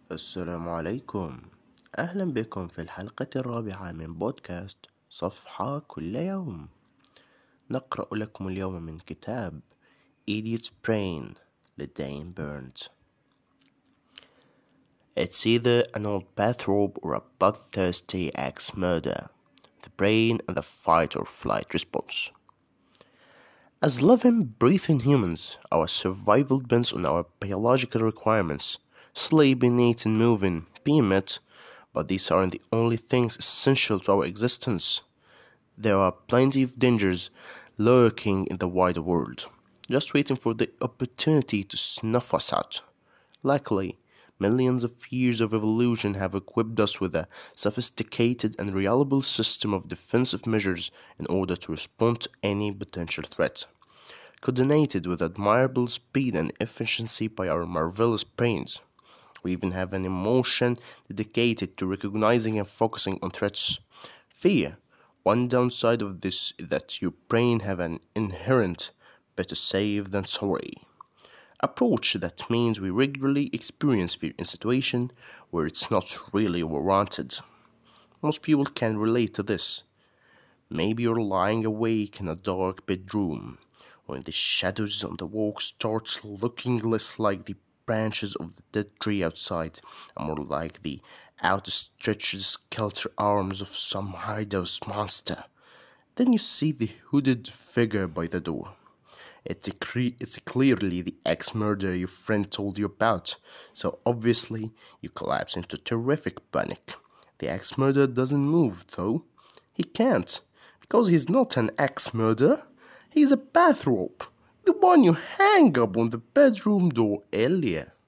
السلام عليكم. أهلا بكم في الحلقة الرابعة من بودكاست صفحة كل يوم. نقرأ لكم اليوم من كتاب Idiot's Brain لدين بيرنز. It's either an old bathrobe or a bloodthirsty axe murder. The brain and the fight or flight response. As living, breathing humans, our survival depends on our biological requirements. Sleeping, eating, moving, being met, but these aren't the only things essential to our existence. There are plenty of dangers lurking in the wide world, just waiting for the opportunity to snuff us out. Luckily, millions of years of evolution have equipped us with a sophisticated and reliable system of defensive measures in order to respond to any potential threat. Coordinated with admirable speed and efficiency by our marvelous brains. We even have an emotion dedicated to recognizing and focusing on threats. Fear. One downside of this is that your brain have an inherent better safe than sorry approach that means we regularly experience fear in situations where it's not really warranted. Most people can relate to this. Maybe you're lying awake in a dark bedroom, when the shadows on the wall starts looking less like the branches of the dead tree outside and more like the outstretched skeletal arms of some hideous monster. Then you see the hooded figure by the door. It's clearly the ex-murderer your friend told you about, so obviously you collapse into terrific panic. The ex-murderer doesn't move, though. He can't, because he's not an ex-murderer. He's a bathrobe, the one you hang up on the bedroom door earlier.